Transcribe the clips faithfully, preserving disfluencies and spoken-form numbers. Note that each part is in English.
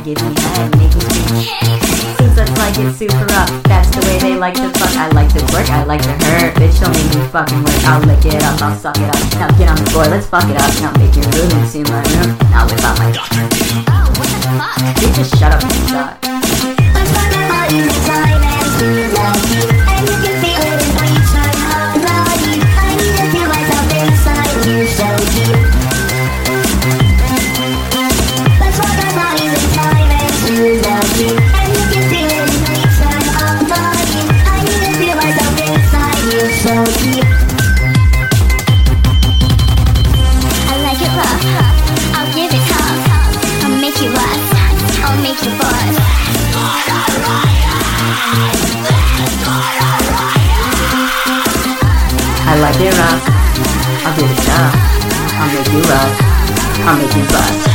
give me head, make me scream. Seems let's like it super rough. That's the way they like to fuck. I like to work, I like to hurt. Bitch, don't make me fucking work. I'll lick it up, I'll suck it up. Now get on the floor, let's fuck it up. Now make your room and see my room. Now whip out my doctor. Oh, what the fuck? Dude, just shut up and suck. Let's find out how you time and do love you. And you can feel it in each time I love you. I need to feel myself inside you so deep. Let's find our bodies in time and do love you. And you can feel it in each time I love you. I need to feel myself inside you so deep. I like it rough. I'll give it tough. I'll make you laugh. I'll make you buzz. I like it rough. I'll give it tough. I'll make you rough. I'll make you bust.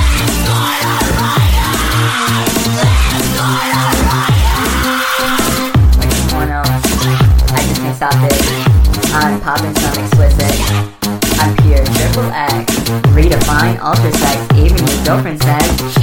Like a porno. I just can't stop it. I'm popping some explicit. I'm pure triple X. Redefine ultra sex. Even your girlfriend says